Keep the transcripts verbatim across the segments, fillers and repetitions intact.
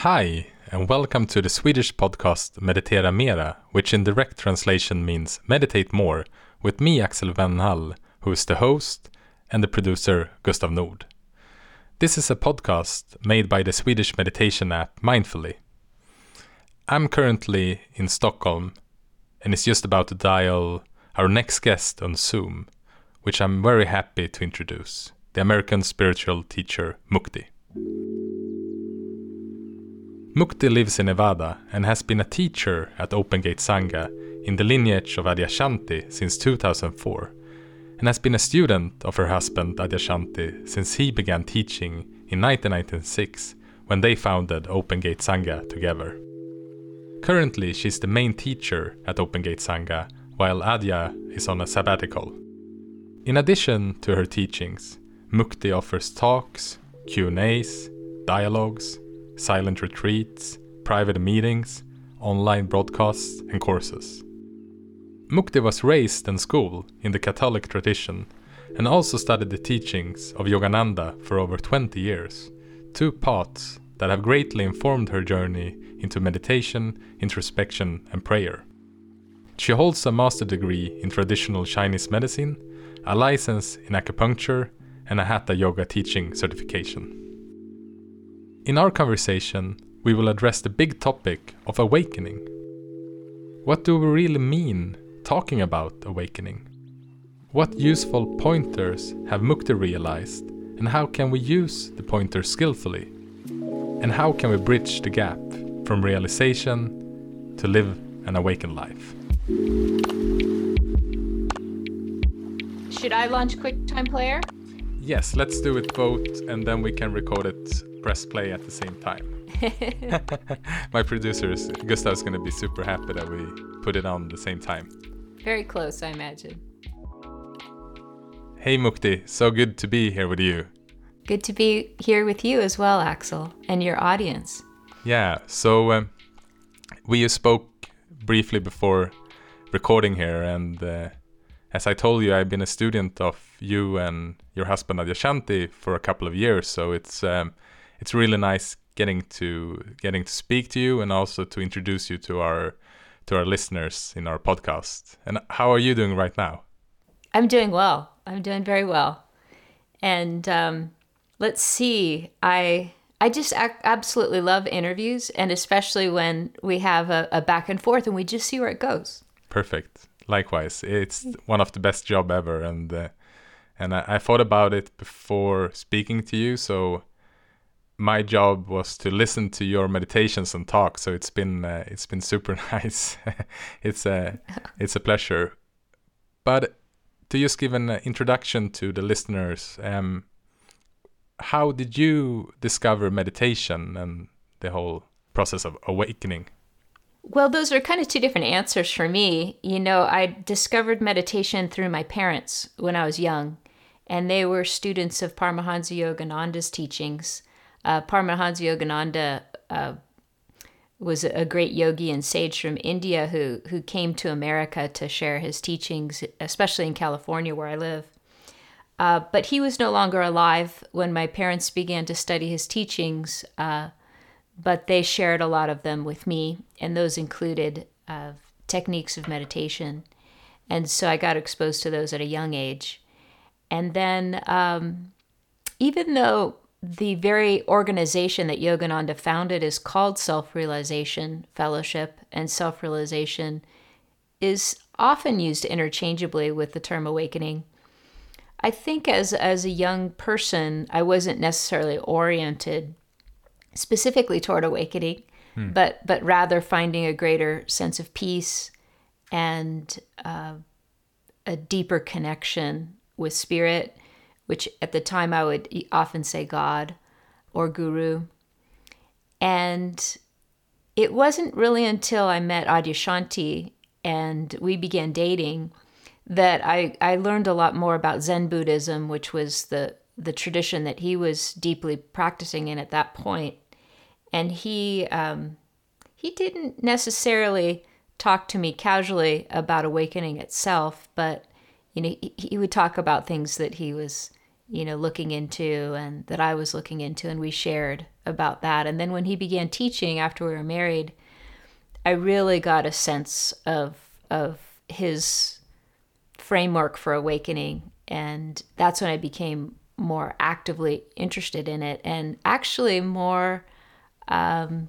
Hi, and welcome to the Swedish podcast Meditera Mera, which in direct translation means Meditate More, with me, Axel Wennhall, who is the host, and the producer, Gustav Nord. This is a podcast made by the Swedish meditation app Mindfully. I'm currently in Stockholm, and it's just about to dial our next guest on Zoom, which I'm very happy to introduce, the American spiritual teacher Mukti. Mukti lives in Nevada and has been a teacher at Open Gate Sangha in the lineage of Adyashanti since two thousand four, and has been a student of her husband Adyashanti since he began teaching in nineteen ninety-six when they founded Open Gate Sangha together. Currently, she's the main teacher at Open Gate Sangha, while Adya is on a sabbatical. In addition to her teachings, Mukti offers talks, Q and A's, dialogues, silent retreats, private meetings, online broadcasts, and courses. Mukti was raised and schooled in the Catholic tradition and also studied the teachings of Yogananda for over twenty years, two paths that have greatly informed her journey into meditation, introspection, and prayer. She holds a master degree in traditional Chinese medicine, a license in acupuncture, and a Hatha Yoga teaching certification. In our conversation, we will address the big topic of awakening. What do we really mean talking about awakening? What useful pointers have Mukti realized, and how can we use the pointers skillfully? And how can we bridge the gap from realization to live an awakened life? Should I launch QuickTime Player? Yes, let's do it both, and then we can record it, press play at the same time. My producers, Gustav, is going to be super happy that we put it on the same time. Very close, I imagine. Hey Mukti, so good to be here with you. Good to be here with you as well, Axel, and your audience. Yeah, so um, we spoke briefly before recording here, and uh, as I told you, I've been a student of you and your husband Adyashanti for a couple of years, so it's um, it's really nice getting to getting to speak to you and also to introduce you to our to our listeners in our podcast. And how are you doing right now? I'm doing well. I'm doing very well. And um, let's see. I I just ac- absolutely love interviews, and especially when we have a, a back and forth and we just see where it goes. Perfect. Likewise, it's one of the best job ever, and uh, and I, I thought about it before speaking to you. So my job was to listen to your meditations and talk. So it's been uh, it's been super nice. it's a it's a pleasure. But to just give an introduction to the listeners, um, how did you discover meditation and the whole process of awakening? Well, those are kind of two different answers for me. You know, I discovered meditation through my parents when I was young, and they were students of Paramahansa Yogananda's teachings. Uh, Paramahansa Yogananda uh, was a great yogi and sage from India who, who came to America to share his teachings, especially in California where I live. Uh, but he was no longer alive when my parents began to study his teachings, uh, but they shared a lot of them with me, and those included uh, techniques of meditation. And so I got exposed to those at a young age. And then um, even though the very organization that Yogananda founded is called Self-Realization Fellowship, and self-realization is often used interchangeably with the term awakening, I think as, as a young person, I wasn't necessarily oriented specifically toward awakening, hmm. but but rather finding a greater sense of peace and uh, a deeper connection with spirit, which at the time I would often say God or Guru. And it wasn't really until I met Adyashanti and we began dating that I, I learned a lot more about Zen Buddhism, which was the, the tradition that he was deeply practicing in at that point. And he um, he didn't necessarily talk to me casually about awakening itself, but you know he, he would talk about things that he was you know looking into and that I was looking into, and we shared about that. And then when he began teaching after we were married, I really got a sense of of his framework for awakening. And that's when I became more actively interested in it, and actually more um,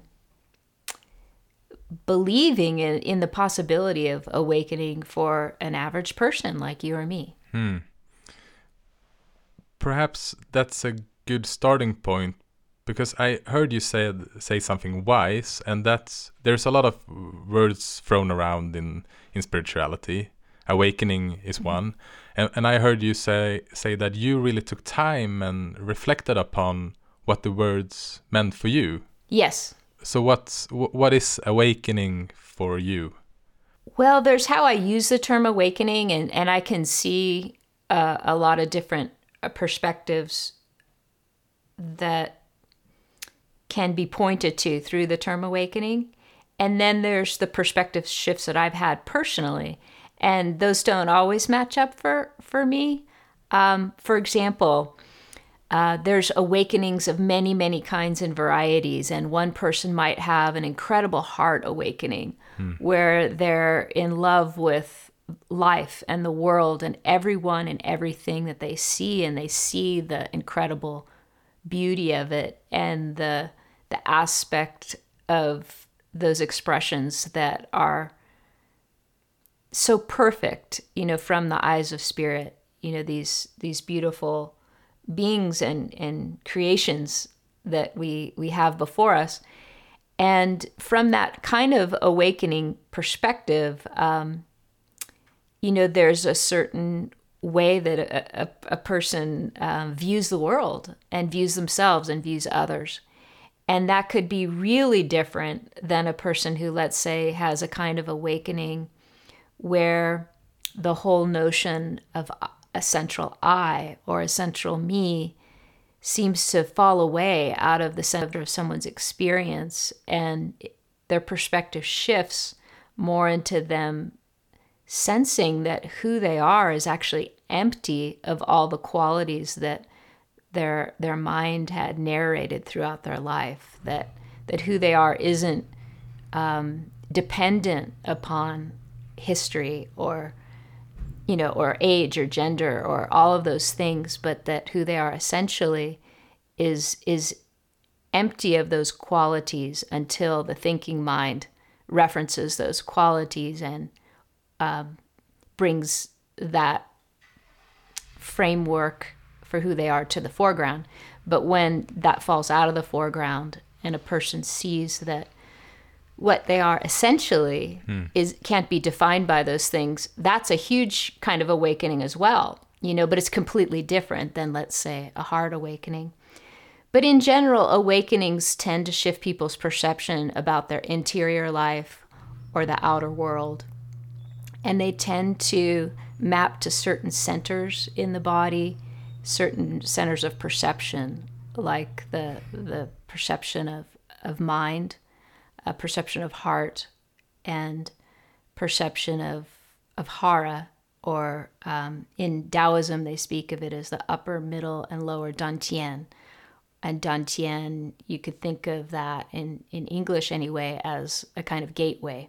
believing in, in the possibility of awakening for an average person like you or me. Hmm. Perhaps that's a good starting point, because I heard you say say something wise, and that's there's a lot of words thrown around in, in spirituality. Awakening is mm-hmm. one, and and I heard you say say that you really took time and reflected upon what the words meant for you. Yes. So what's what is awakening for you? Well, there's how I use the term awakening, and and I can see uh, a lot of different uh, perspectives that can be pointed to through the term awakening. And then there's the perspective shifts that I've had personally. And those don't always match up for, for me. Um, for example, uh, there's awakenings of many, many kinds and varieties. And one person might have an incredible heart awakening hmm. where they're in love with life and the world and everyone and everything that they see. And they see the incredible beauty of it and the the aspect of those expressions that are so perfect, you know, from the eyes of spirit, you know, these these beautiful beings and, and creations that we we have before us. And from that kind of awakening perspective, um, you know, there's a certain way that a, a, a person um, views the world and views themselves and views others. And that could be really different than a person who, let's say, has a kind of awakening where the whole notion of a central I or a central me seems to fall away out of the center of someone's experience, and their perspective shifts more into them sensing that who they are is actually empty of all the qualities that their their mind had narrated throughout their life, that that who they are isn't um, dependent upon history or, you know, or age or gender or all of those things, but that who they are essentially is is empty of those qualities until the thinking mind references those qualities and um, brings that framework for who they are to the foreground. But when that falls out of the foreground and a person sees that what they are essentially hmm. is can't be defined by those things, that's a huge kind of awakening as well, you know, but it's completely different than, let's say, a heart awakening. But in general, awakenings tend to shift people's perception about their interior life or the outer world. And they tend to map to certain centers in the body, certain centers of perception, like the the perception of, of mind, a perception of heart, and perception of of hara, or um, in Taoism they speak of it as the upper, middle, and lower dantian. And dantian, you could think of that in, in English anyway as a kind of gateway,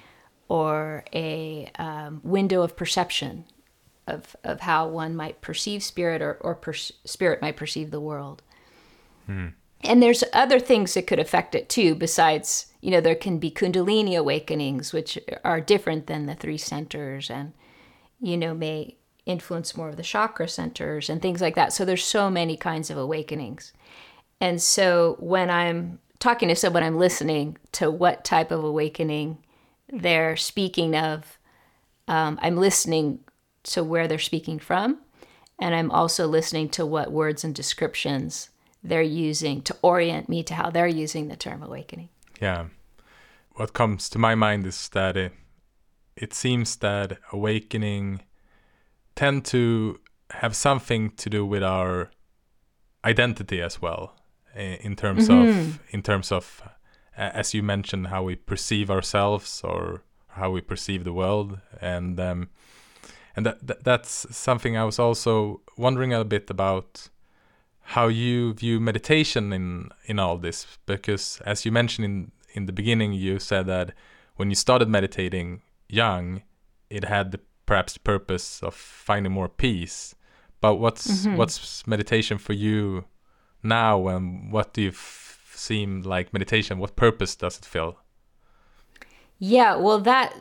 or a um, window of perception of of how one might perceive spirit, or, or per- spirit might perceive the world. Hmm. And there's other things that could affect it too, besides, you know, there can be Kundalini awakenings, which are different than the three centers and, you know, may influence more of the chakra centers and things like that. So there's so many kinds of awakenings. And so when I'm talking to someone, I'm listening to what type of awakening they're speaking of. Um, I'm listening to where they're speaking from, and I'm also listening to what words and descriptions they're using to orient me to how they're using the term awakening. Yeah. What comes to my mind is that it, it seems that awakening tend to have something to do with our identity as well, in terms mm-hmm. of in terms of as you mentioned, how we perceive ourselves or how we perceive the world, and um, and that, that that's something I was also wondering a bit about. how you view meditation in in all this, because as you mentioned in in the beginning, you said that when you started meditating young, it had the, perhaps the purpose of finding more peace. But what's mm-hmm. what's meditation for you now, and what do you f- seem like meditation? What purpose does it fill? Yeah, well, that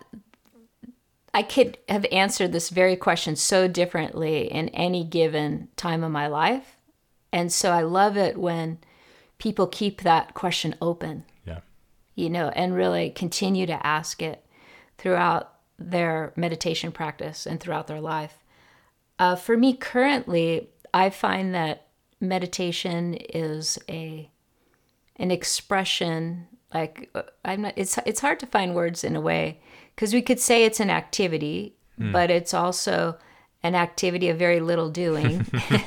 I could have answered this very question so differently in any given time of my life. And so I love it when people keep that question open, yeah, you know, and really continue to ask it throughout their meditation practice and throughout their life. Uh, for me currently, I find that meditation is a an expression, like I'm not, it's it's hard to find words in a way, because we could say it's an activity, mm. but it's also an activity of very little doing.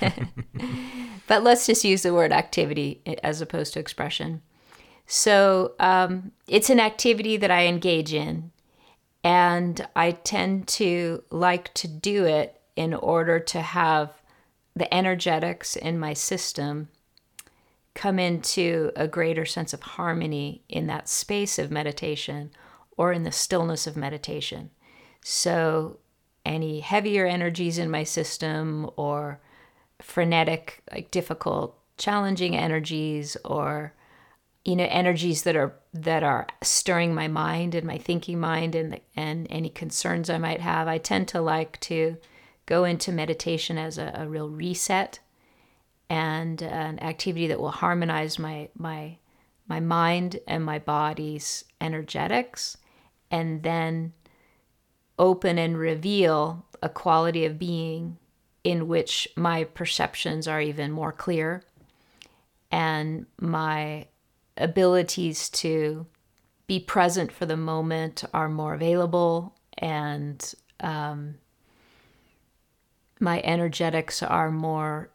But let's just use the word activity as opposed to expression. So um, it's an activity that I engage in, and I tend to like to do it in order to have the energetics in my system come into a greater sense of harmony in that space of meditation or in the stillness of meditation. So any heavier energies in my system, or frenetic, like difficult, challenging energies, or you know, energies that are that are stirring my mind and my thinking mind, and and any concerns I might have, I tend to like to go into meditation as a, a real reset and an activity that will harmonize my my my mind and my body's energetics, and then open and reveal a quality of being in which my perceptions are even more clear, and my abilities to be present for the moment are more available, and um, my energetics are more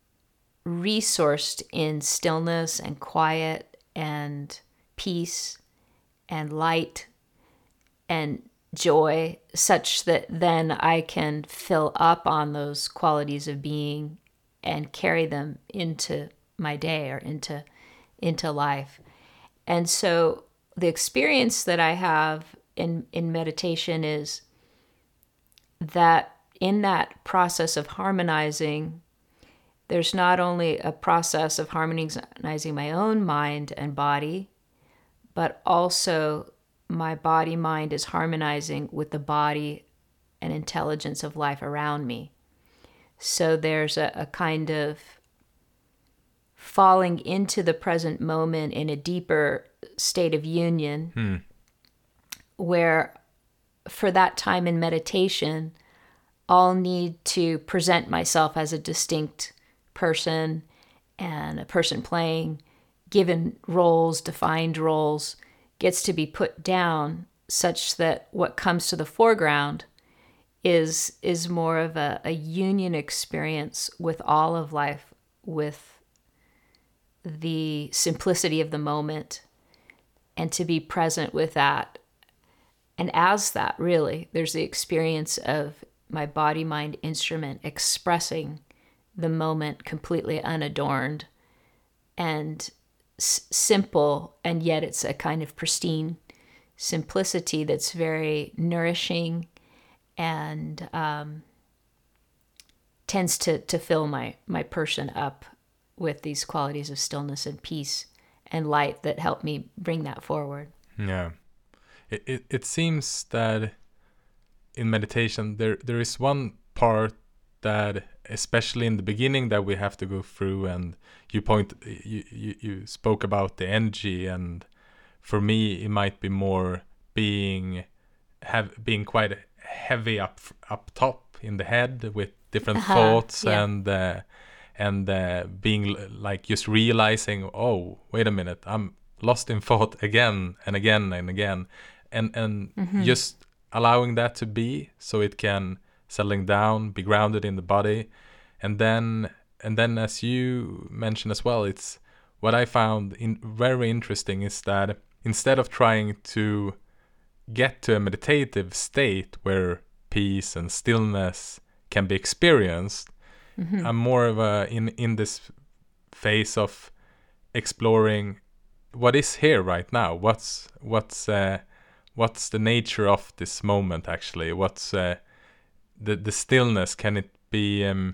resourced in stillness and quiet and peace and light and joy, such that then I can fill up on those qualities of being and carry them into my day or into into life. And so the experience that I have in, in meditation is that in that process of harmonizing, there's not only a process of harmonizing my own mind and body, but also my body mind is harmonizing with the body and intelligence of life around me. So there's a, a kind of falling into the present moment in a deeper state of union, hmm. where for that time in meditation, I'll need to present myself as a distinct person and a person playing given roles, defined roles, gets to be put down such that what comes to the foreground is is more of a, a union experience with all of life, with the simplicity of the moment, and to be present with that. And as that, really, there's the experience of my body-mind instrument expressing the moment completely unadorned and s- simple, and yet it's a kind of pristine simplicity that's very nourishing and um, tends to, to fill my, my person up with these qualities of stillness and peace and light that help me bring that forward. Yeah. It, it, it seems that in meditation, there there is one part that, especially in the beginning, that we have to go through, and you point you, you, you spoke about the energy, and for me it might be more being have being quite heavy up up top in the head with different uh-huh, thoughts yeah. and uh, and uh, being like just realizing, oh, wait a minute, I'm lost in thought again and again and again, and and mm-hmm. just allowing that to be, so it can settling down, be grounded in the body. And then and then as you mentioned as well, it's what I found in very interesting is that instead of trying to get to a meditative state where peace and stillness can be experienced, mm-hmm. I'm more of a in in this phase of exploring what is here right now. What's what's uh, what's the nature of this moment actually? What's uh, the the stillness? Can it be um,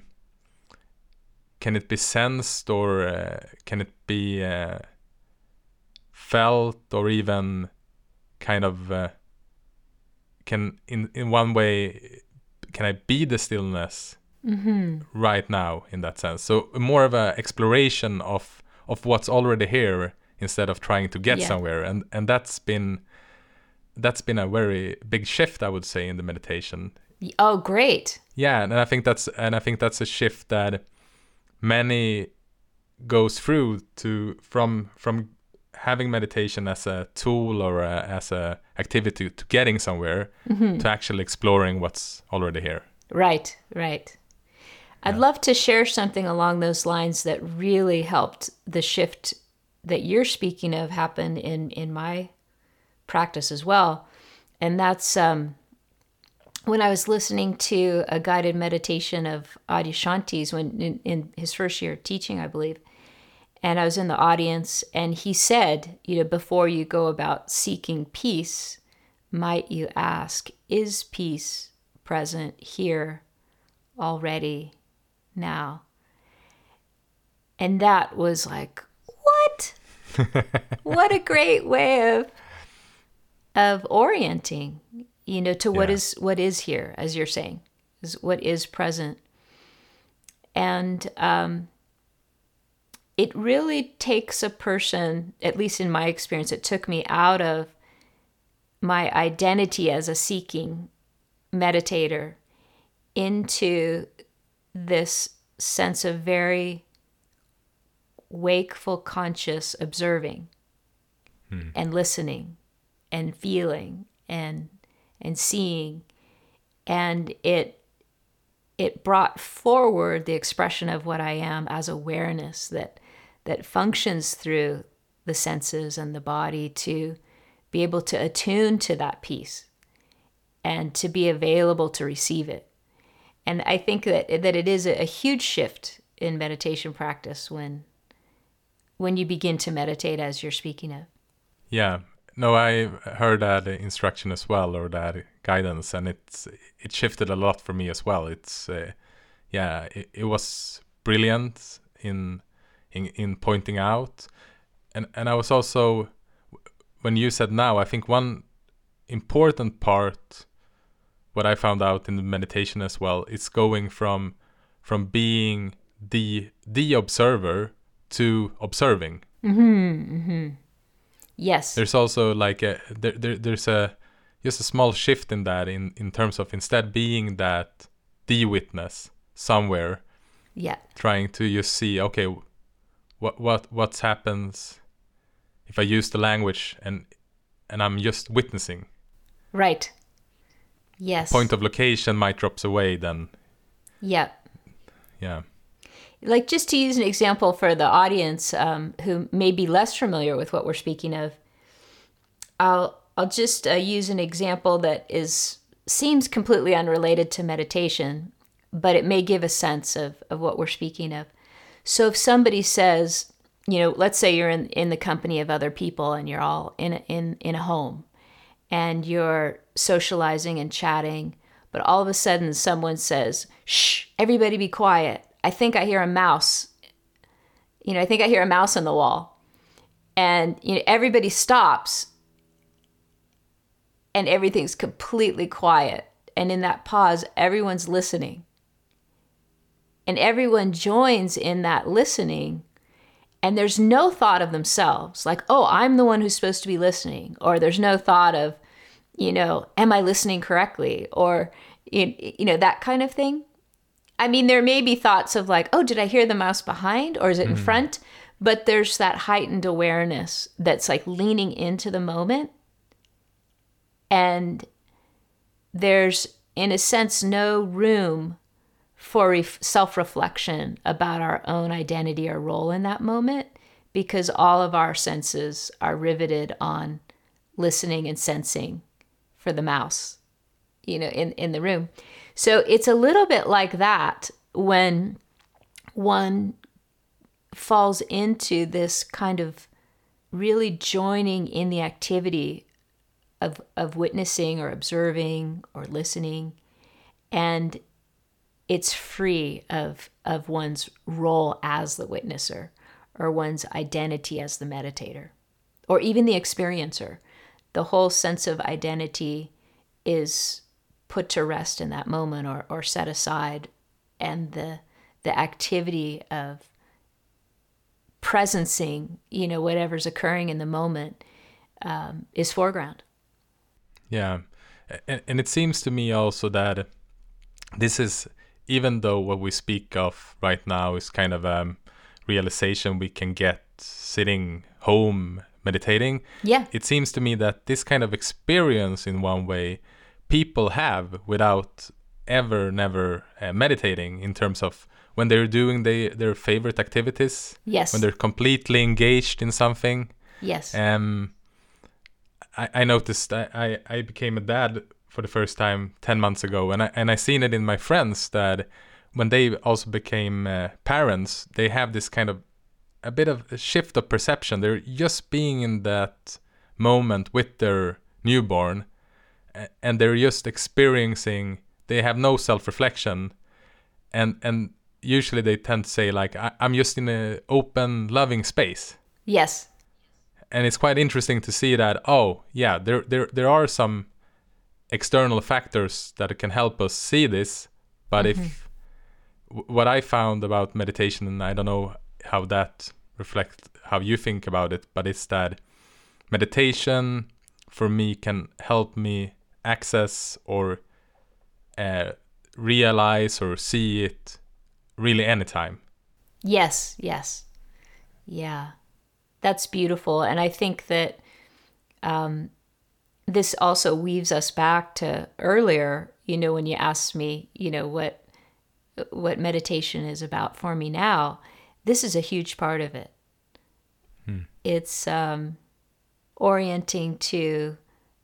can it be sensed, or uh, can it be uh, felt, or even kind of uh, can in in one way, can I be the stillness Mm-hmm. right now in that sense? So more of a exploration of of what's already here instead of trying to get Yeah. somewhere, and and that's been that's been a very big shift, I would say, in the meditation. Oh, great. Yeah, and I think that's and I think that's a shift that many goes through to from from having meditation as a tool or a, as a activity to getting somewhere, Mm-hmm. to actually exploring what's already here. Right, right. I'd Yeah. love to share something along those lines that really helped the shift that you're speaking of happen in, in my practice as well. And that's um, when I was listening to a guided meditation of Adyashanti's when in, in his first year of teaching, I believe. And I was in the audience, and he said, you know, before you go about seeking peace, might you ask, is peace present here already now? And that was like, what? What a great way of of orienting, you know, to what Yeah. is what is here, as you're saying, is what is present. And um, it really takes a person, at least in my experience, it took me out of my identity as a seeking meditator into this sense of very wakeful, conscious observing and listening and feeling and and seeing. And it it brought forward the expression of what I am as awareness that that functions through the senses and the body to be able to attune to that peace and to be available to receive it. And I think that that it is a, a huge shift in meditation practice when when you begin to meditate as you're speaking of. Yeah, no, I heard that instruction as well, or that guidance, and it's it shifted a lot for me as well. It's uh, yeah, it, it was brilliant in in in pointing out, and and I was also, when you said now, I think one important part, what I found out in the meditation as well, is going from from being the the observer to observing. Yes. There's also like a there, there there's a just a small shift in that, in in terms of instead being that the witness somewhere, Yeah. trying to just see, okay, what what what happens if I use the language and and I'm just witnessing. Right. Yes. Point of location might drops away then. Yeah. Yeah. Like, just to use an example for the audience um, who may be less familiar with what we're speaking of, I'll I'll just uh, use an example that is seems completely unrelated to meditation, but it may give a sense of, of what we're speaking of. So if somebody says, you know, let's say you're in, in the company of other people and you're all in a, in in a home and you're socializing and chatting, but all of a sudden someone says, "Shh, everybody be quiet. I think I hear a mouse. You know, I think I hear a mouse on the wall." And, you know, everybody stops and everything's completely quiet. And in that pause, everyone's listening. And everyone joins in that listening. And there's no thought of themselves, like, oh, I'm the one who's supposed to be listening. Or there's no thought of, you know, am I listening correctly? Or, you know, that kind of thing. I mean, there may be thoughts of like, oh, did I hear the mouse behind or is it in front? But there's that heightened awareness that's like leaning into the moment. And there's, in a sense, no room for ref- self-reflection about our own identity or role in that moment, because all of our senses are riveted on listening and sensing for the mouse, you know, in, in the room. So it's a little bit like that when one falls into this kind of really joining in the activity of of witnessing or observing or listening, and it's free of of one's role as the witnesser or one's identity as the meditator or even the experiencer. The whole sense of identity is put to rest in that moment or, or set aside, and the the activity of presencing, you know, whatever's occurring in the moment um, is foreground. Yeah, and, and it seems to me also that this is, even though what we speak of right now is kind of a realization we can get sitting home meditating, Yeah. it seems to me that this kind of experience in one way people have without ever, never uh, meditating, in terms of when they're doing they, their favorite activities, Yes. when they're completely engaged in something. Yes. Um, I, I noticed I, I, I became a dad for the first time ten months ago, and I and I seen it in my friends that when they also became uh, parents, they have this kind of a bit of a shift of perception. They're just being in that moment with their newborn, and they're just experiencing. They have no self-reflection, and and usually they tend to say like, I, I'm just in an open, loving space. Yes. And it's quite interesting to see that, oh yeah, there there there are some external factors that can help us see this, but mm-hmm. if w- what I found about meditation, and I don't know how that reflects how you think about it, but it's that meditation for me can help me access or uh, realize or see it really anytime. Yes, yes. Yeah, that's beautiful. And I think that um, this also weaves us back to earlier, you know, when you asked me, you know, what what meditation is about for me now. This is a huge part of it. Hmm. It's um, orienting to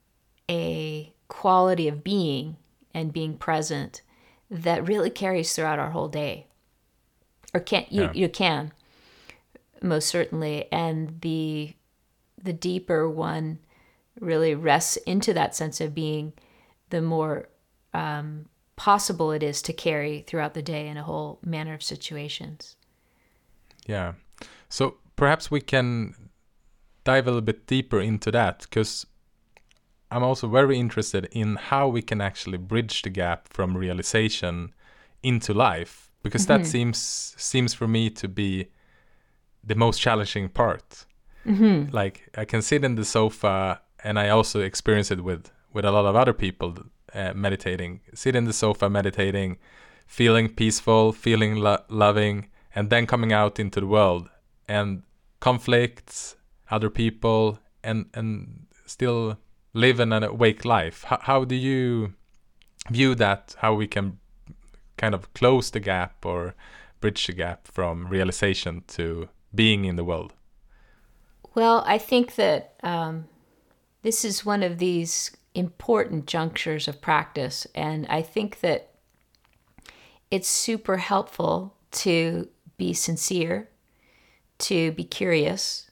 a quality of being and being present that really carries throughout our whole day. Or can you, yeah. you can, most certainly. And the the deeper one really rests into that sense of being, the more um, possible it is to carry throughout the day in a whole manner of situations. Yeah. So perhaps we can dive a little bit deeper into that, because I'm also very interested in how we can actually bridge the gap from realization into life, because mm-hmm. that seems seems for me to be the most challenging part. Mm-hmm. Like, I can sit in the sofa, and I also experience it with, with a lot of other people uh, meditating. Sit in the sofa meditating, feeling peaceful, feeling lo- loving, and then coming out into the world and conflicts, other people, and and still live an awake life. How, how do you view that? How we can kind of close the gap or bridge the gap from realization to being in the world? Well, I think that um, this is one of these important junctures of practice, and I think that it's super helpful to be sincere, to be curious,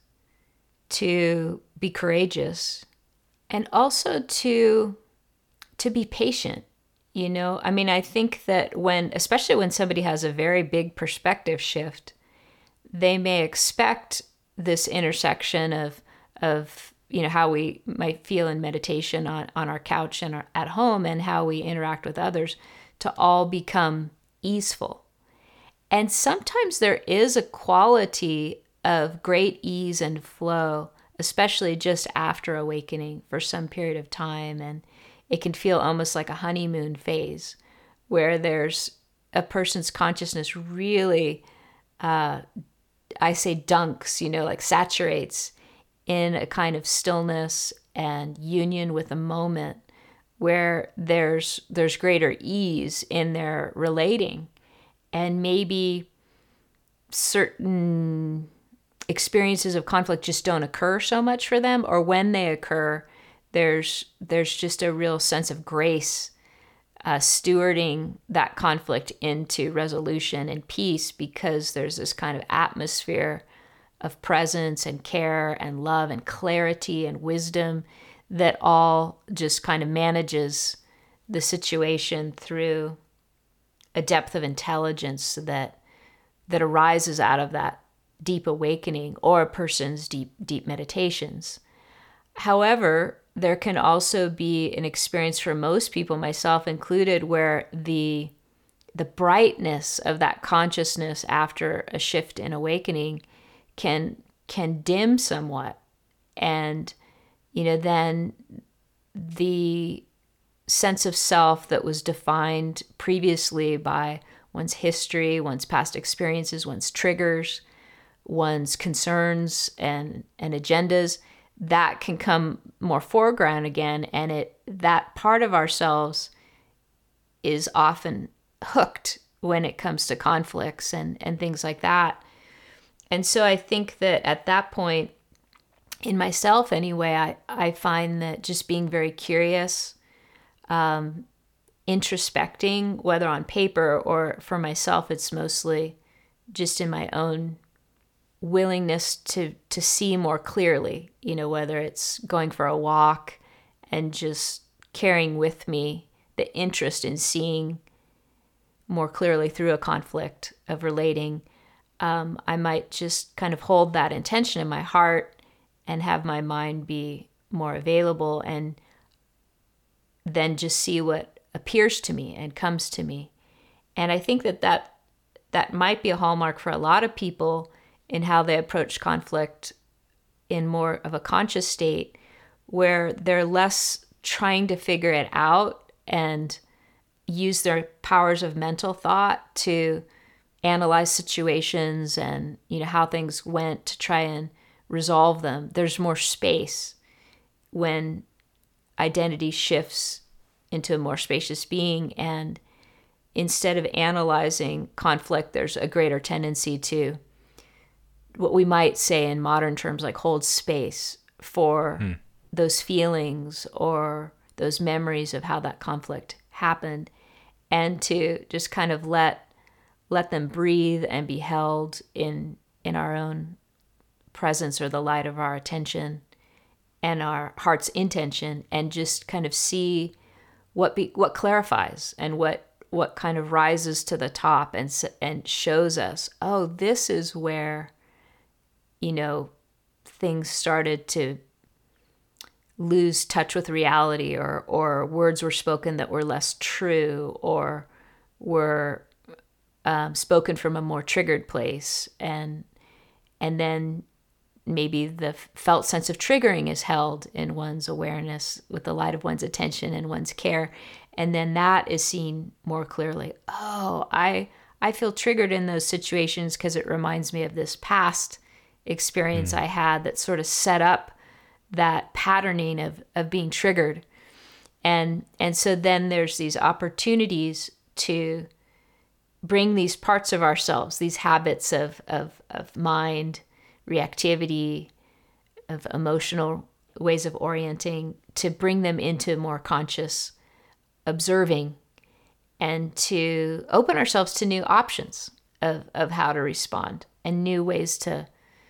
to be courageous, and also to to be patient. You know, I mean, I think that when, especially when somebody has a very big perspective shift, they may expect this intersection of of you know how we might feel in meditation on, on our couch and our, at home, and how we interact with others, to all become easeful. And sometimes there is a quality of great ease and flow, especially just after awakening for some period of time. And it can feel almost like a honeymoon phase where there's a person's consciousness really, uh, I say dunks, you know, like saturates in a kind of stillness and union with a moment where there's there's greater ease in their relating. And maybe certain experiences of conflict just don't occur so much for them, or when they occur, there's there's just a real sense of grace uh, stewarding that conflict into resolution and peace, because there's this kind of atmosphere of presence and care and love and clarity and wisdom that all just kind of manages the situation through a depth of intelligence that that arises out of that deep awakening or a person's deep deep meditations. However, there can also be an experience for most people, myself included, where the the brightness of that consciousness after a shift in awakening can can dim somewhat, and you know then the sense of self that was defined previously by one's history, one's past experiences, one's triggers, one's concerns and and agendas, that can come more foreground again, and it that part of ourselves is often hooked when it comes to conflicts and and things like that. And so I think that at that point, in myself anyway, I, I find that just being very curious, um, introspecting, whether on paper or for myself, it's mostly just in my own willingness to to see more clearly, you know, whether it's going for a walk and just carrying with me the interest in seeing more clearly through a conflict of relating. Um, I might just kind of hold that intention in my heart and have my mind be more available, and then just see what appears to me and comes to me. And I think that that, that might be a hallmark for a lot of people in how they approach conflict in more of a conscious state, where they're less trying to figure it out and use their powers of mental thought to analyze situations and, you know, how things went to try and resolve them. There's more space when identity shifts into a more spacious being, and instead of analyzing conflict, there's a greater tendency to, what we might say in modern terms, like hold space for hmm. those feelings or those memories of how that conflict happened, and to just kind of let let them breathe and be held in in our own presence or the light of our attention and our heart's intention, and just kind of see what be, what clarifies and what what kind of rises to the top and and shows us, oh, this is where, you know, things started to lose touch with reality, or or words were spoken that were less true, or were um, spoken from a more triggered place, and and then maybe the felt sense of triggering is held in one's awareness with the light of one's attention and one's care, and then that is seen more clearly. Oh, I I feel triggered in those situations because it reminds me of this past experience mm. I had that sort of set up that patterning of of being triggered, and and so then there's these opportunities to bring these parts of ourselves, these habits of of of mind, reactivity, of emotional ways of orienting, to bring them into more conscious observing, and to open ourselves to new options of of how to respond, and new ways to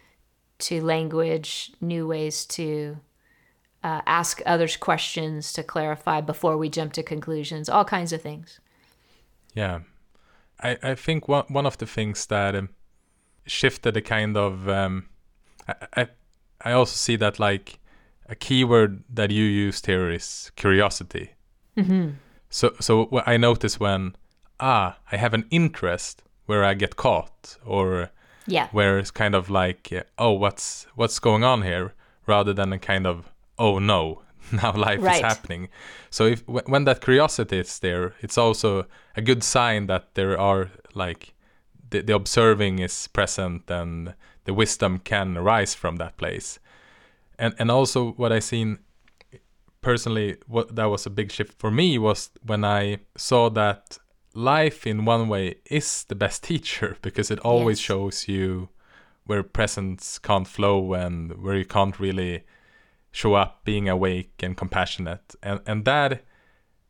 to language, new ways to uh, ask others questions to clarify before we jump to conclusions, all kinds of things. Yeah. I, I think one, one of the things that um, shifted the kind of, um, I, I, I also see that like a keyword that you used here is curiosity. Mm-hmm. So, so what I notice when, ah, I have an interest where I get caught, or yeah, where it's kind of like, uh, oh, what's what's going on here, rather than a kind of, oh no, now life right. is happening. So if w- when that curiosity is there, it's also a good sign that there are like the, the observing is present, and the wisdom can arise from that place. And and also what I seen personally, what that was a big shift for me was when I saw that life in one way is the best teacher, because it always yes. shows you where presence can't flow and where you can't really show up being awake and compassionate. And and that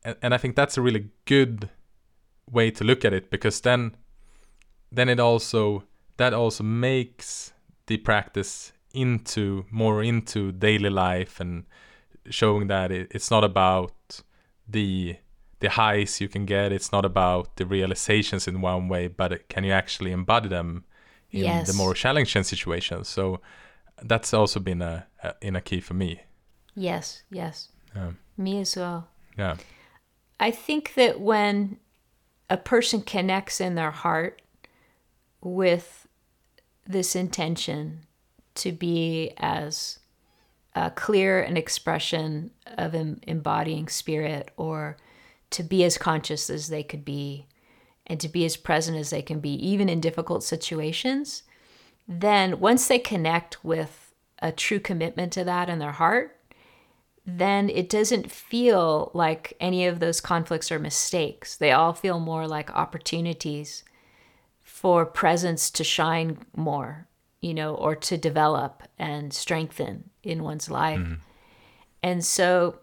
and, and I think that's a really good way to look at it, because then then it also that also makes the practice into more into daily life, and showing that it, it's not about the the highs you can get, it's not about the realizations in one way, but it, can you actually embody them in Yes. the more challenging situations. So that's also been a, a in a key for me. Yes, yes. Yeah. Me as well. Yeah. I think that when a person connects in their heart with this intention to be as uh, clear an expression of em- embodying spirit, or to be as conscious as they could be, and to be as present as they can be, even in difficult situations, then once they connect with a true commitment to that in their heart, then it doesn't feel like any of those conflicts are mistakes. They all feel more like opportunities for presence to shine more, you know, or to develop and strengthen in one's life. Mm-hmm. And so,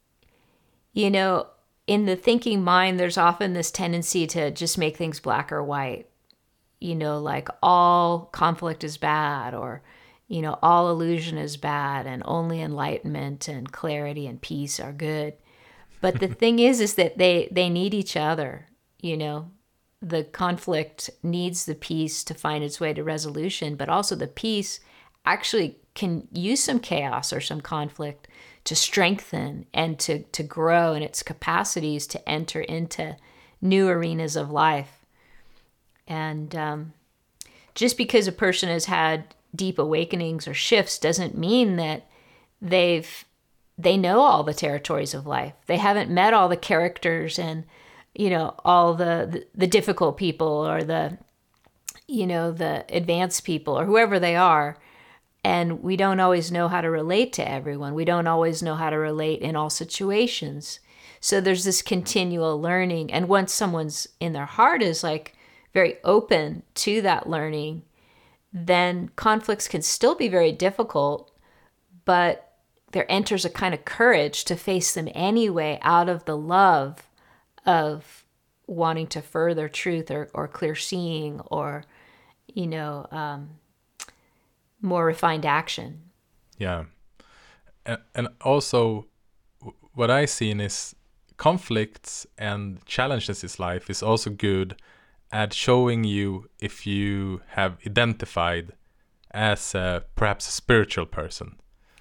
you know, in the thinking mind, there's often this tendency to just make things black or white, you know, like all conflict is bad, or, you know, all illusion is bad, and only enlightenment and clarity and peace are good. But the thing is, is that they, they need each other, you know. The conflict needs the peace to find its way to resolution, but also the peace actually can use some chaos or some conflict to strengthen and to, to grow in its capacities to enter into new arenas of life. And um, just because a person has had deep awakenings or shifts doesn't mean that they've they know all the territories of life. They haven't met all the characters and, you know, all the, the, the difficult people, or the, you know, the advanced people, or whoever they are. And we don't always know how to relate to everyone. We don't always know how to relate in all situations. So there's this continual learning. And once someone's in their heart is like very open to that learning, then conflicts can still be very difficult, but there enters a kind of courage to face them anyway, out of the love of wanting to further truth, or, or clear seeing, or, you know, um, more refined action. Yeah. And, and also what I seen is conflicts and challenges in life is also good at showing you if you have identified as a, perhaps a spiritual person.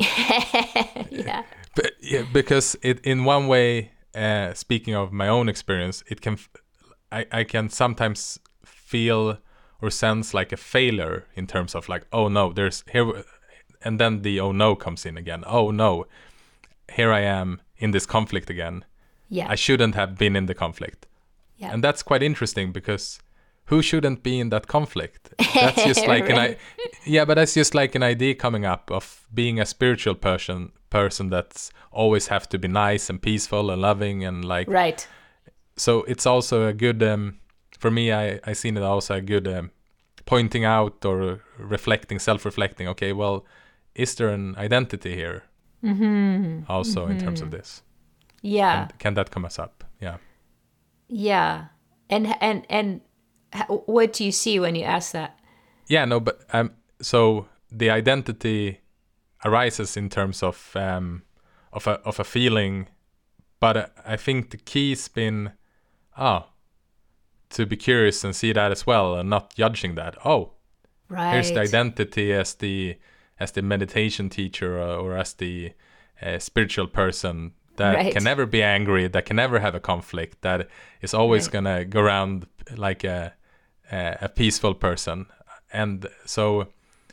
Yeah. But, yeah, because it in one way, uh, speaking of my own experience, it can, I, I can sometimes feel or sense like a failure in terms of like, oh no, there's here, and then the oh no comes in again. Oh no, here I am in this conflict again. Yeah. I shouldn't have been in the conflict. Yeah. And that's quite interesting, because who shouldn't be in that conflict? That's just like right. an I yeah, but that's just like an idea coming up of being a spiritual person person that's always have to be nice and peaceful and loving and like right. So it's also a good um, for me. I I seen it also a good um, pointing out or reflecting, self-reflecting. Okay, well, is there an identity here? Mm-hmm. Also mm-hmm. in terms of this. Yeah. Can, can that come us up? Yeah. Yeah. And and and what do you see when you ask that? Yeah, no, but um, so the identity arises in terms of um, of a of a feeling, but uh, I think the key's been ah to be curious and see that as well, and not judging that. Oh, right. Here's the identity as the as the meditation teacher, or, or as the uh, spiritual person that right. can never be angry, that can never have a conflict, that is always right. gonna go around like a, a a peaceful person. And so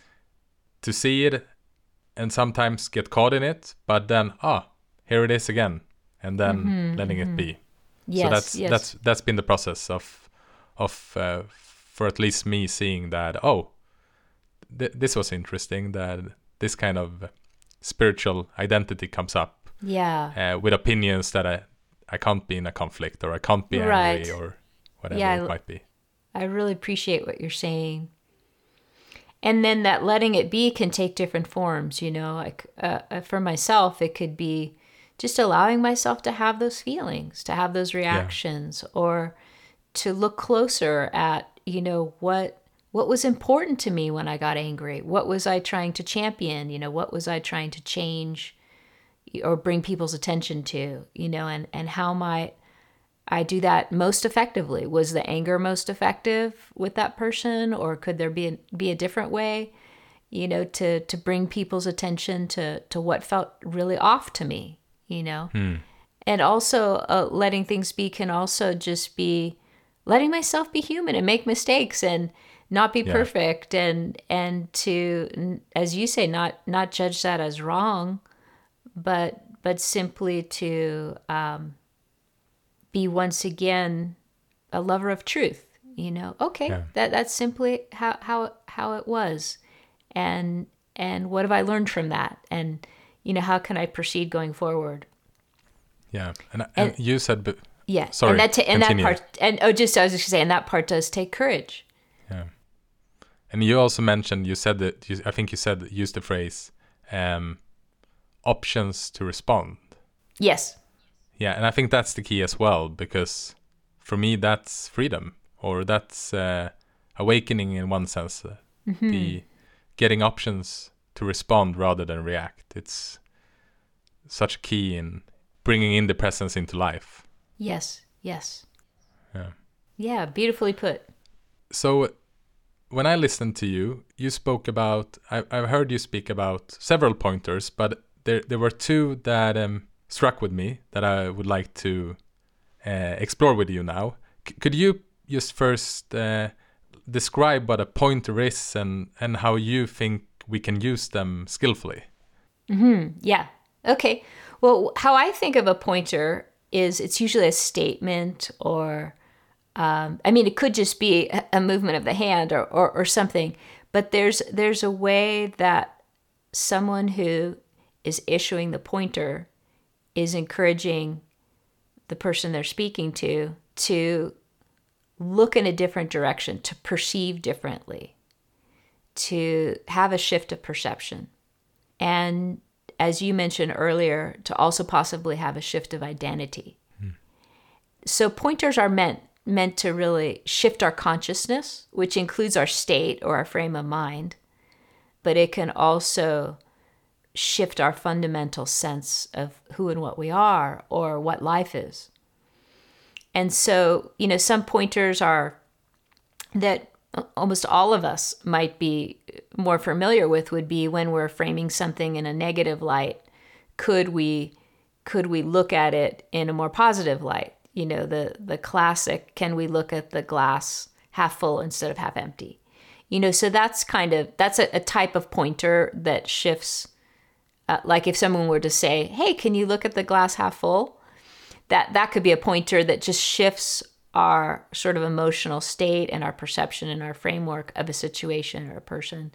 to see it and sometimes get caught in it, but then ah, here it is again, and then mm-hmm, letting mm-hmm. it be. Yes, so that's yes. that's that's been the process of of uh, for at least me seeing that oh. Th- this was interesting, that this kind of spiritual identity comes up yeah uh, with opinions that I, I can't be in a conflict, or I can't be right. angry, or whatever yeah, it I, might be. I really appreciate what you're saying. And then that letting it be can take different forms, you know, like uh, for myself, it could be just allowing myself to have those feelings, to have those reactions, yeah. or to look closer at, you know, what what was important to me when I got angry? What was I trying to champion? You know, what was I trying to change or bring people's attention to, you know, and, and how might I do that most effectively? Was the anger most effective with that person, or could there be a, be a different way, you know, to, to bring people's attention to, to what felt really off to me, you know? Hmm. And also uh, letting things be can also just be letting myself be human and make mistakes and not be yeah. perfect, and and to, as you say, not not judge that as wrong, but but simply to um, be once again a lover of truth. You know, okay, yeah. that that's simply how how how it was, and and what have I learned from that, and you know, how can I proceed going forward? Yeah, and, and, and you said, but yeah, sorry, and that t- and continue. that part, and oh, just I was just saying that part does take courage. Yeah. And you also mentioned, you said that, you, I think you said, use the phrase, um, options to respond. Yes. Yeah, and I think that's the key as well, because for me, that's freedom, or that's uh, awakening in one sense. Uh, mm-hmm. The getting options to respond rather than react. It's such a key in bringing in the presence into life. Yes, yes. Yeah. Yeah, beautifully put. So, when I listened to you, you spoke about, I, I've heard you speak about several pointers, but there there were two that um, struck with me that I would like to uh, explore with you now. C- could you just first uh, describe what a pointer is, and, and how you think we can use them skillfully? Mm-hmm. Yeah. Okay. Well, how I think of a pointer is it's usually a statement, or Um, I mean, it could just be a movement of the hand, or, or, or something, but there's there's a way that someone who is issuing the pointer is encouraging the person they're speaking to to look in a different direction, to perceive differently, to have a shift of perception. And as you mentioned earlier, to also possibly have a shift of identity. Hmm. So pointers are meant meant to really shift our consciousness, which includes our state or our frame of mind, but it can also shift our fundamental sense of who and what we are, or what life is. And so, you know, some pointers are that almost all of us might be more familiar with would be when we're framing something in a negative light, could we could we look at it in a more positive light? You know, the, the classic, can we look at the glass half full instead of half empty? You know, so that's kind of, that's a, a type of pointer that shifts. Uh, like if someone were to say, hey, can you look at the glass half full? That, that could be a pointer that just shifts our sort of emotional state and our perception and our framework of a situation or a person.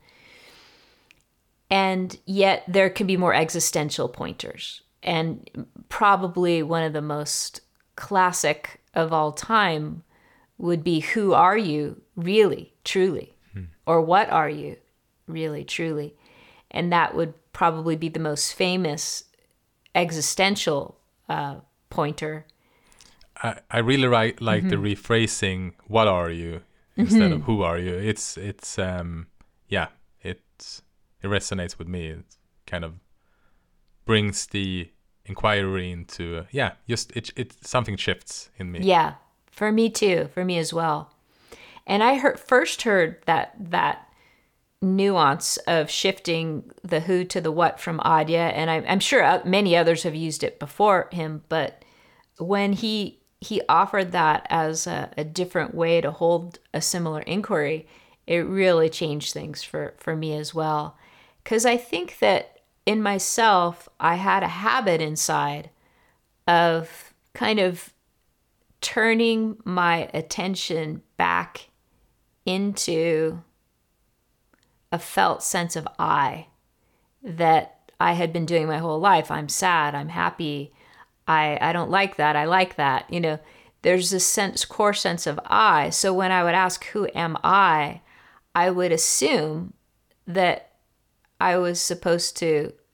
And yet there can be more existential pointers. And probably one of the most classic of all time would be, who are you really, truly? Hmm. Or what are you really, truly? And that would probably be the most famous existential uh, pointer. I, I really like, like mm-hmm. the rephrasing, what are you, instead mm-hmm. of who are you. It's, it's um, yeah, it's, it resonates with me. It kind of brings the inquiry into uh, yeah just it it something shifts in me. Yeah, for me too, for me as well. And I heard first heard that that nuance of shifting the who to the what from Adya, and I, I'm sure many others have used it before him, but when he he offered that as a, a different way to hold a similar inquiry, it really changed things for for me as well, because I think that in myself, I had a habit inside of kind of turning my attention back into a felt sense of I that I had been doing my whole life. I'm sad, I'm happy, I, I don't like that, I like that. You know, there's this sense, core sense of I. So when I would ask, who am I? I would assume that I was supposed to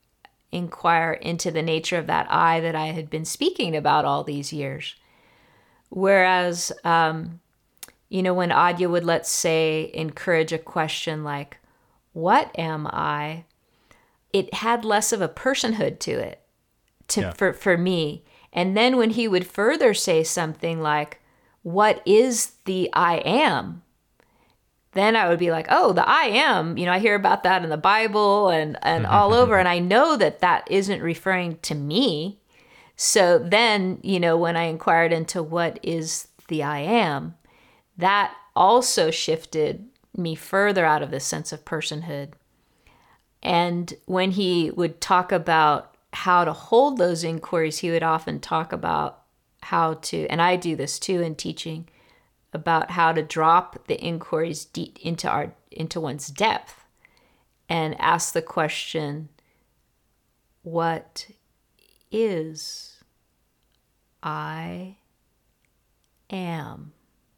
inquire into the nature of that I that I had been speaking about all these years. Whereas, um, you know, when Adya would, let's say, encourage a question like, what am I? It had less of a personhood to it to, Yeah. for, for me. And then when he would further say something like, what is the I am? Then I would be like, oh, the I am, you know, I hear about that in the Bible and, and all over. And I know that that isn't referring to me. So then, you know, when I inquired into what is the I am, that also shifted me further out of this sense of personhood. And when he would talk about how to hold those inquiries, he would often talk about how to, and I do this too in teaching, about how to drop the inquiries deep into our into one's depth and ask the question, what is I am?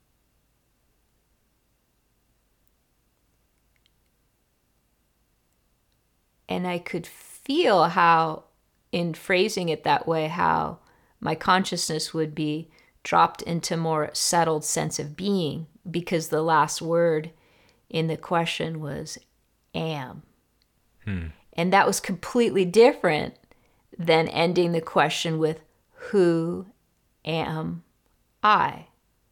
And I could feel how, in phrasing it that way, how my consciousness would be dropped into more settled sense of being, because the last word in the question was am. Hmm. And that was completely different than ending the question with who am I?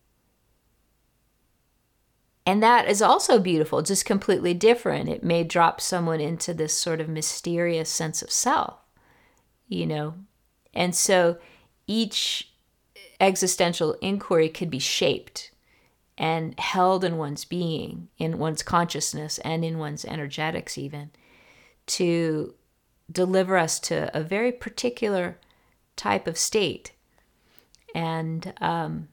And that is also beautiful, just completely different. It may drop someone into this sort of mysterious sense of self, you know? And so each existential inquiry could be shaped and held in one's being, in one's consciousness, and in one's energetics even, to deliver us to a very particular type of state. And um,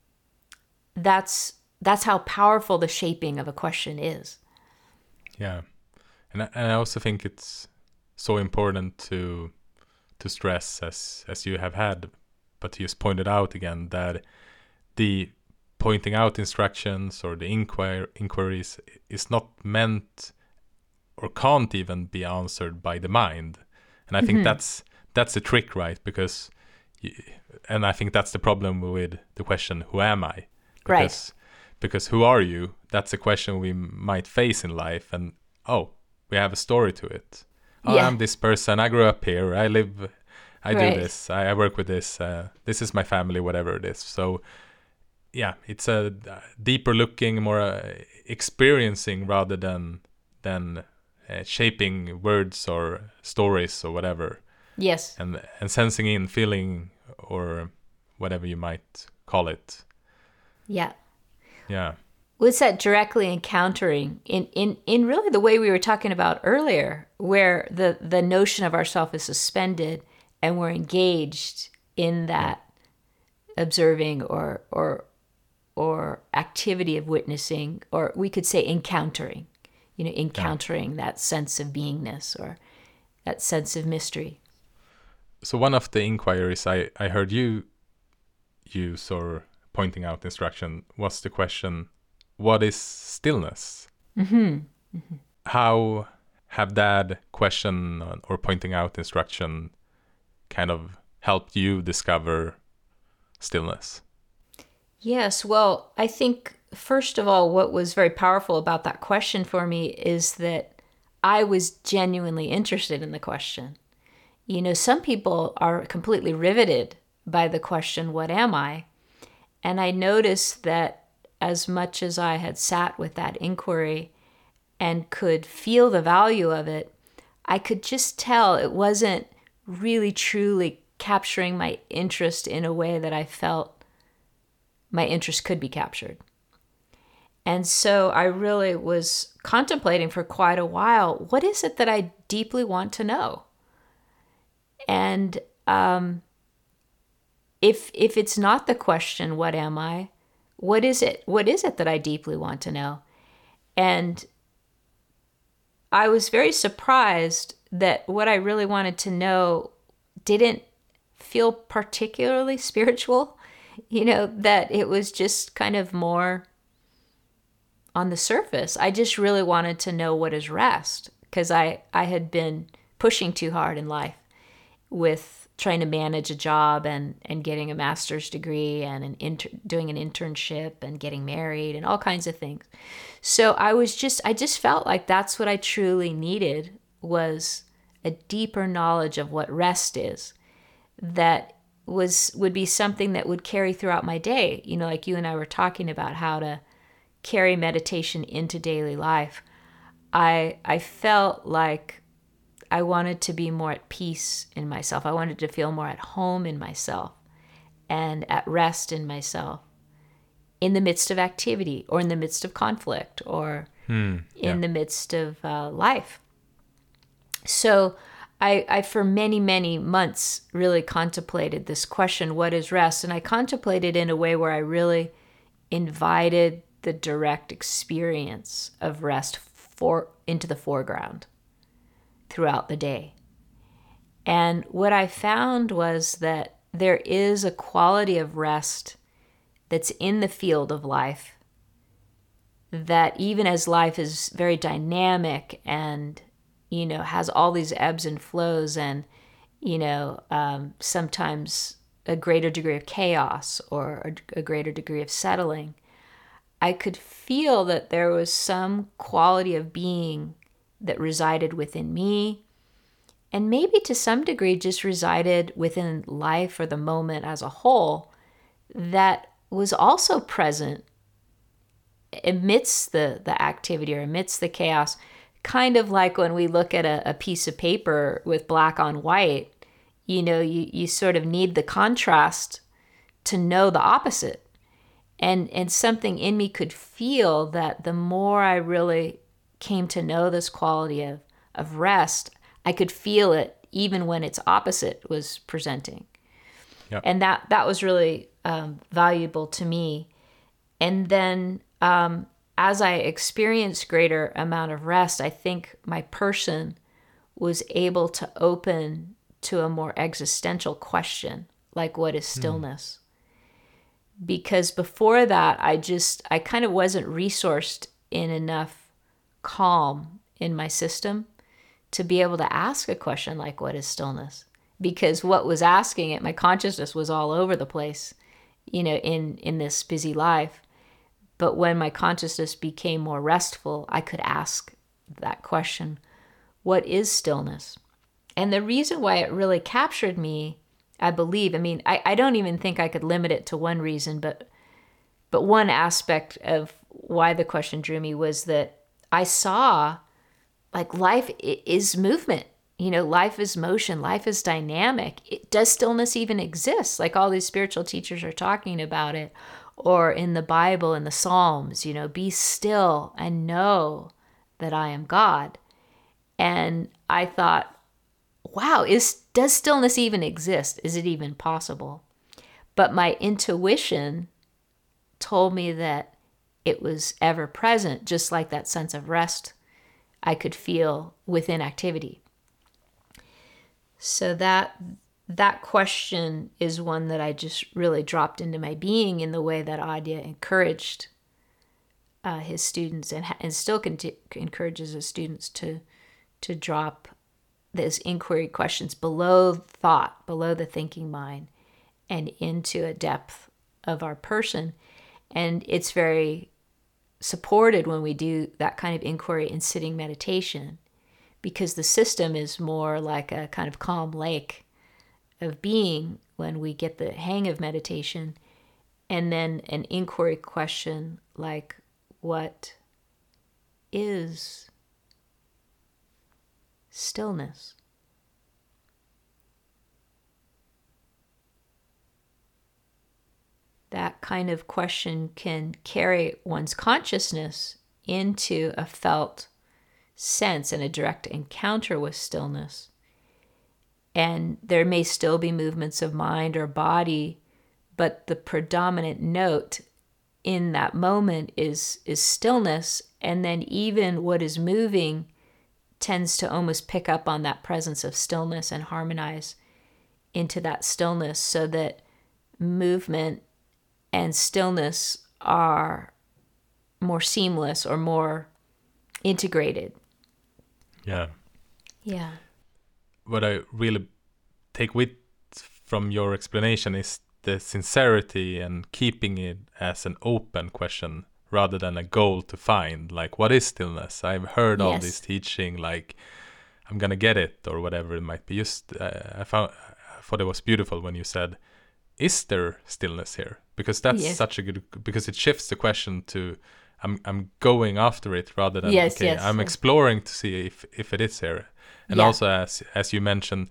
that's that's how powerful the shaping of a question is. Yeah, and I, and I also think it's so important to to stress, as as you have had, but you just pointed out again, that the pointing out instructions or the inquir- inquiries is not meant or can't even be answered by the mind. And I think mm-hmm. that's that's the trick, right? Because, you, and I think that's the problem with the question, who am I? Because, right. Because who are you? That's a question we might face in life. And, oh, we have a story to it. Oh, yeah. I'm this person. I grew up here. I live, I right. do this. I, I work with this. Uh, this is my family, whatever it is. So, yeah, it's a deeper looking, more uh, experiencing rather than than uh, shaping words or stories or whatever. Yes. And and sensing in, feeling, or whatever you might call it. Yeah. Yeah. Was that directly encountering in, in, in really the way we were talking about earlier, where the, the notion of ourself is suspended and we're engaged in that yeah. observing or or or activity of witnessing, or we could say encountering, you know, encountering yeah. that sense of beingness or that sense of mystery. So one of the inquiries I, I heard you use or pointing out instruction was the question, what is stillness? Mm-hmm. Mm-hmm. How have that question or pointing out instruction kind of helped you discover stillness? Yes, well, I think, first of all, what was very powerful about that question for me is that I was genuinely interested in the question. You know, some people are completely riveted by the question, what am I? And I noticed that as much as I had sat with that inquiry and could feel the value of it, I could just tell it wasn't really truly capturing my interest in a way that I felt my interest could be captured. And so I really was contemplating for quite a while, what is it that I deeply want to know? And um, if if it's not the question, what am I? What is it? What is it that I deeply want to know? And I was very surprised that what I really wanted to know didn't feel particularly spiritual. You know, that it was just kind of more on the surface. I just really wanted to know what is rest, because I, I had been pushing too hard in life with trying to manage a job and, and getting a master's degree and an inter- doing an internship and getting married and all kinds of things. So I was just, I just felt like that's what I truly needed, was a deeper knowledge of what rest is, that was, would be something that would carry throughout my day. You know, like you and I were talking about how to carry meditation into daily life. I, I felt like I wanted to be more at peace in myself. I wanted to feel more at home in myself and at rest in myself in the midst of activity or in the midst of conflict or Hmm, yeah. in the midst of uh, life. So I, I, for many, many months, really contemplated this question, what is rest? And I contemplated in a way where I really invited the direct experience of rest for into the foreground throughout the day. And what I found was that there is a quality of rest that's in the field of life, that even as life is very dynamic and, you know, has all these ebbs and flows and, you know, um, sometimes a greater degree of chaos or a, a greater degree of settling, I could feel that there was some quality of being that resided within me, and maybe to some degree just resided within life or the moment as a whole, that was also present amidst the, the activity or amidst the chaos. Kind of like when we look at a, a piece of paper with black on white, you know, you, you sort of need the contrast to know the opposite. And, and something in me could feel that the more I really came to know this quality of, of rest, I could feel it even when its opposite was presenting. Yep. And that, that was really um, valuable to me. And then um, as I experienced greater amount of rest, I think my person was able to open to a more existential question, like what is stillness? Mm. Because before that, I just, I kind of wasn't resourced in enough calm in my system to be able to ask a question like, what is stillness? Because what was asking it, my consciousness was all over the place, you know, in, in this busy life. But when my consciousness became more restful, I could ask that question, what is stillness? And the reason why it really captured me, I believe, I mean, I, I don't even think I could limit it to one reason, but but one aspect of why the question drew me was that I saw like life is movement. You know, life is motion, life is dynamic. It, does stillness even exist? Like all these spiritual teachers are talking about it, or in the Bible, in the Psalms, you know, be still and know that I am God. And I thought, wow, is does stillness even exist? Is it even possible? But my intuition told me that it was ever present, just like that sense of rest I could feel within activity. So that that question is one that I just really dropped into my being in the way that Adya encouraged uh, his students and, and still conti- encourages his students to to drop those inquiry questions below thought, below the thinking mind, and into a depth of our person. And it's very supported when we do that kind of inquiry in sitting meditation, because the system is more like a kind of calm lake of being when we get the hang of meditation. And then an inquiry question like, what is stillness? That kind of question can carry one's consciousness into a felt sense and a direct encounter with stillness. And there may still be movements of mind or body, but the predominant note in that moment is, is stillness. And then even what is moving tends to almost pick up on that presence of stillness and harmonize into that stillness, so that movement and stillness are more seamless or more integrated. Yeah. Yeah. what I really take with from your explanation is the sincerity and keeping it as an open question rather than a goal to find. Like, what is stillness? I've heard all Yes. this teaching, like, I'm gonna get it or whatever it might be. Just uh, I found I thought it was beautiful when you said, "Is there stillness here?" Because that's Yes. such a good, because it shifts the question to I'm I'm going after it rather than Yes, okay, yes, I'm yes. exploring to see if if it is here. And Yeah. also as as you mentioned,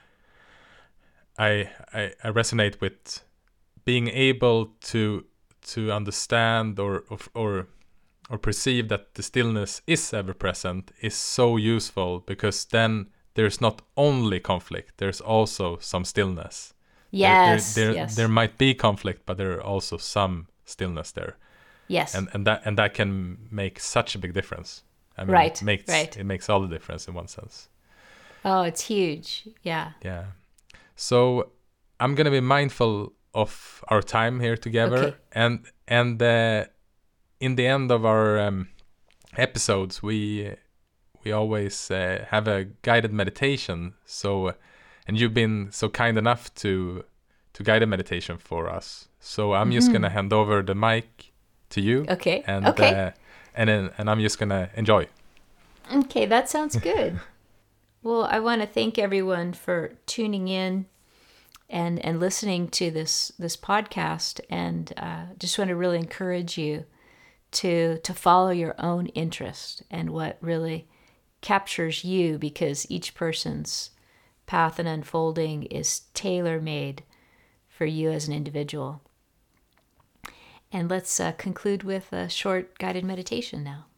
I, I I resonate with being able to to understand or or or, or perceive that the stillness is ever present is so useful, because then there's not only conflict, there's also some stillness. Yes, there, there, there, yes. there might be conflict, but there are also some stillness there, Yes. and and that and that can make such a big difference. I mean, Right, it makes right. it makes all the difference in one sense. Oh, it's huge. Yeah. Yeah. So I'm gonna be mindful of our time here together, Okay. and and uh, in the end of our um, episodes, we we always uh, have a guided meditation. So, and you've been so kind enough to to guide a meditation for us. So I'm just gonna hand over the mic to you. Mm-hmm. Okay, And okay. Uh, and then, and I'm just gonna enjoy. Okay, that sounds good. Well, I want to thank everyone for tuning in and and listening to this this podcast, and uh, just want to really encourage you to to follow your own interest and what really captures you, because each person's path and unfolding is tailor-made for you as an individual. And let's uh, conclude with a short guided meditation now.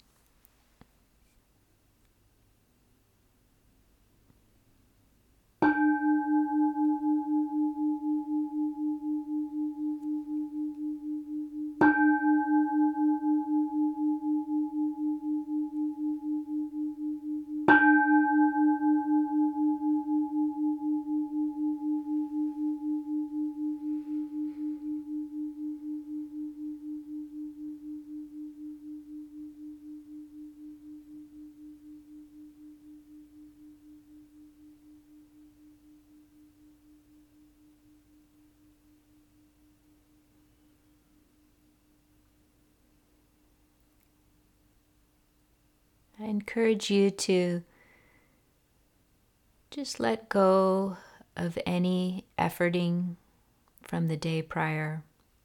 I encourage you to just let go of any efforting from the day prior.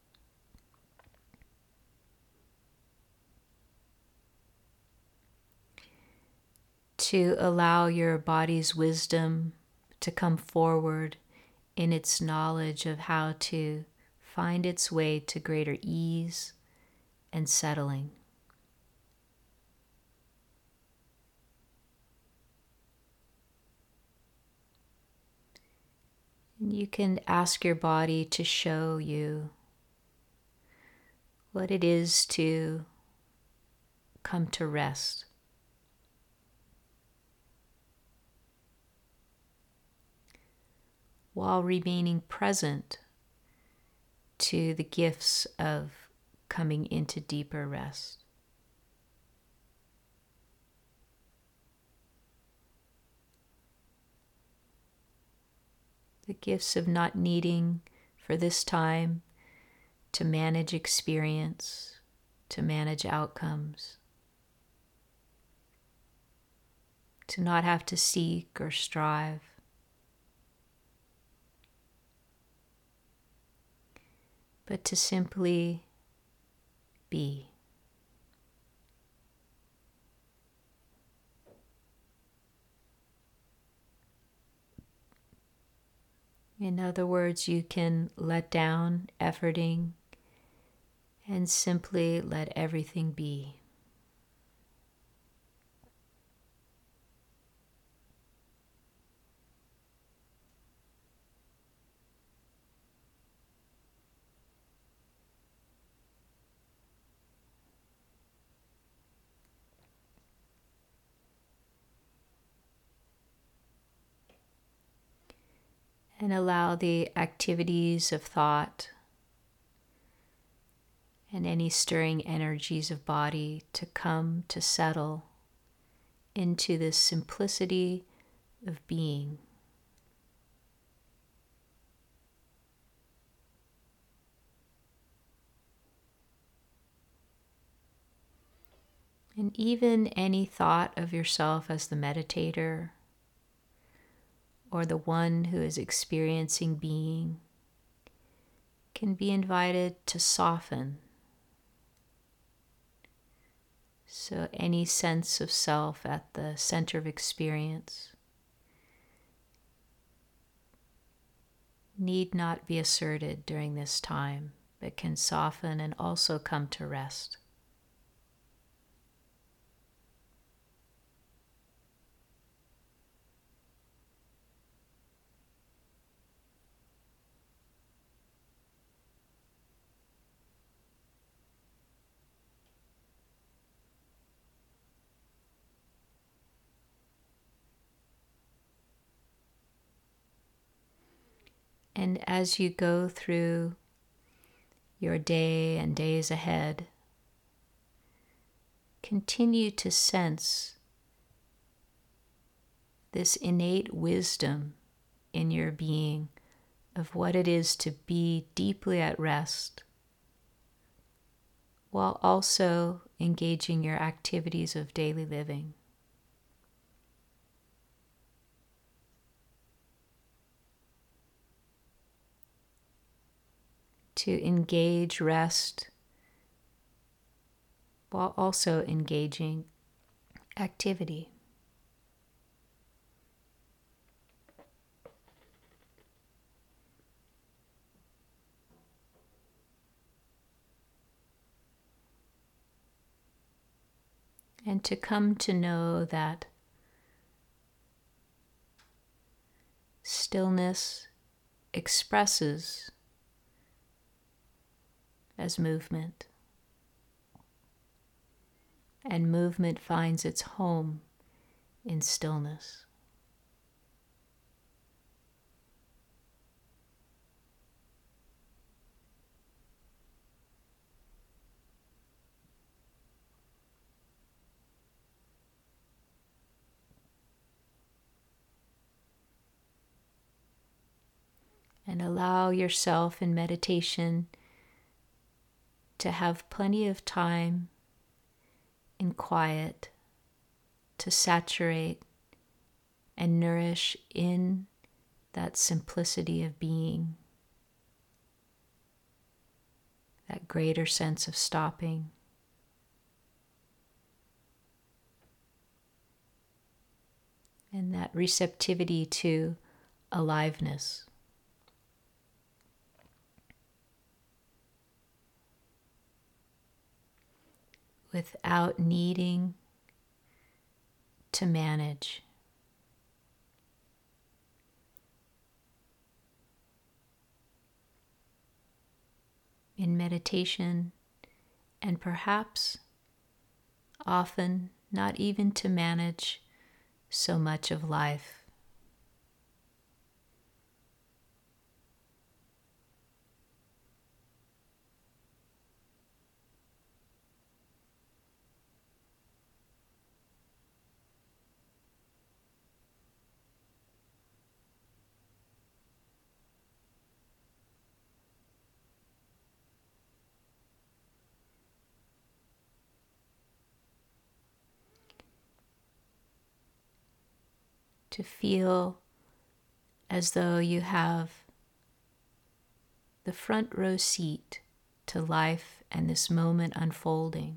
To allow your body's wisdom to come forward in its knowledge of how to find its way to greater ease and settling. You can ask your body to show you what it is to come to rest. While remaining present to the gifts of coming into deeper rest. The gifts of not needing for this time to manage experience, to manage outcomes, to not have to seek or strive, but to simply be. In other words, you can let down efforting and simply let everything be. And allow the activities of thought and any stirring energies of body to come to settle into this simplicity of being. And even any thought of yourself as the meditator or the one who is experiencing being can be invited to soften. So any sense of self at the center of experience need not be asserted during this time, but can soften and also come to rest. And as you go through your day and days ahead, continue to sense this innate wisdom in your being of what it is to be deeply at rest, while also engaging your activities of daily living. To engage rest while also engaging activity. And to come to know that stillness expresses as movement, and movement finds its home in stillness. And allow yourself in meditation to have plenty of time in quiet to saturate and nourish in that simplicity of being, that greater sense of stopping. And that receptivity to aliveness. Without needing to manage. In meditation, and perhaps often not even to manage so much of life. To feel as though you have the front row seat to life and this moment unfolding.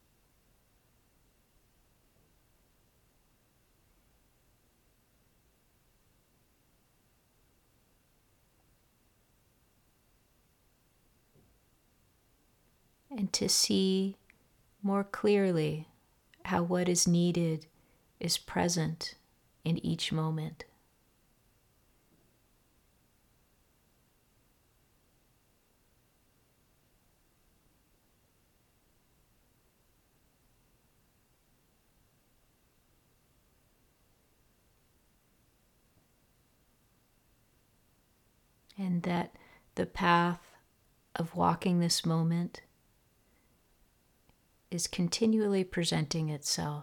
And to see more clearly how what is needed is present in each moment. And that the path of walking this moment is continually presenting itself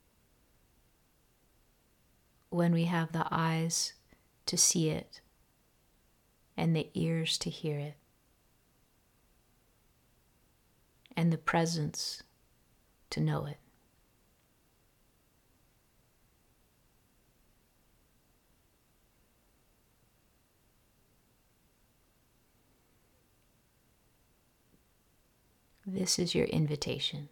when we have the eyes to see it and the ears to hear it and the presence to know it. This is your invitation.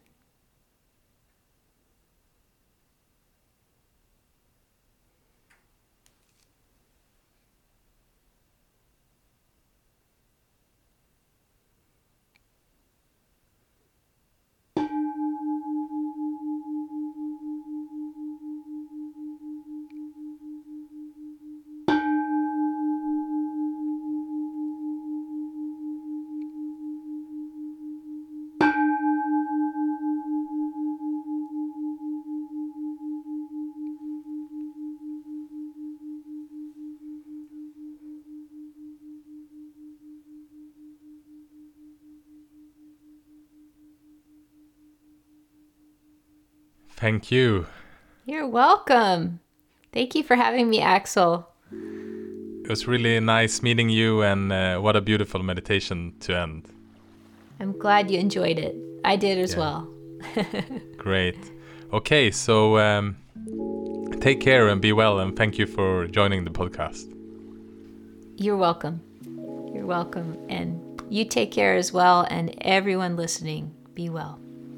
Thank you. You're welcome. Thank you for having me, Axel. It was really nice meeting you, and uh, what a beautiful meditation to end. I'm glad you enjoyed it. I did as Yeah. well. Great. Okay, so um, take care and be well, and thank you for joining the podcast. You're welcome. You're welcome. And you take care as well, and everyone listening, be well.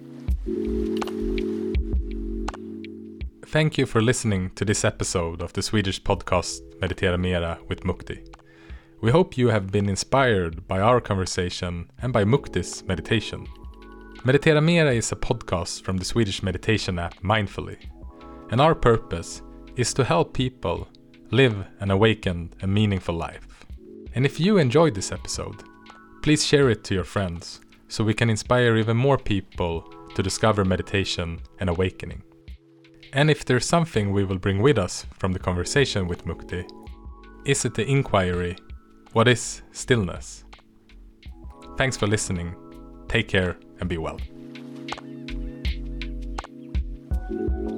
Thank you for listening to this episode of the Swedish podcast Meditera Mera with Mukti. We hope you have been inspired by our conversation and by Mukti's meditation. Meditera Mera is a podcast from the Swedish meditation app Mindfully, and our purpose is to help people live an awakened and meaningful life. And if you enjoyed this episode, please share it to your friends so we can inspire even more people to discover meditation and awakening. And if there's something we will bring with us from the conversation with Mukti, is it the inquiry, what is stillness? Thanks for listening. Take care and be well.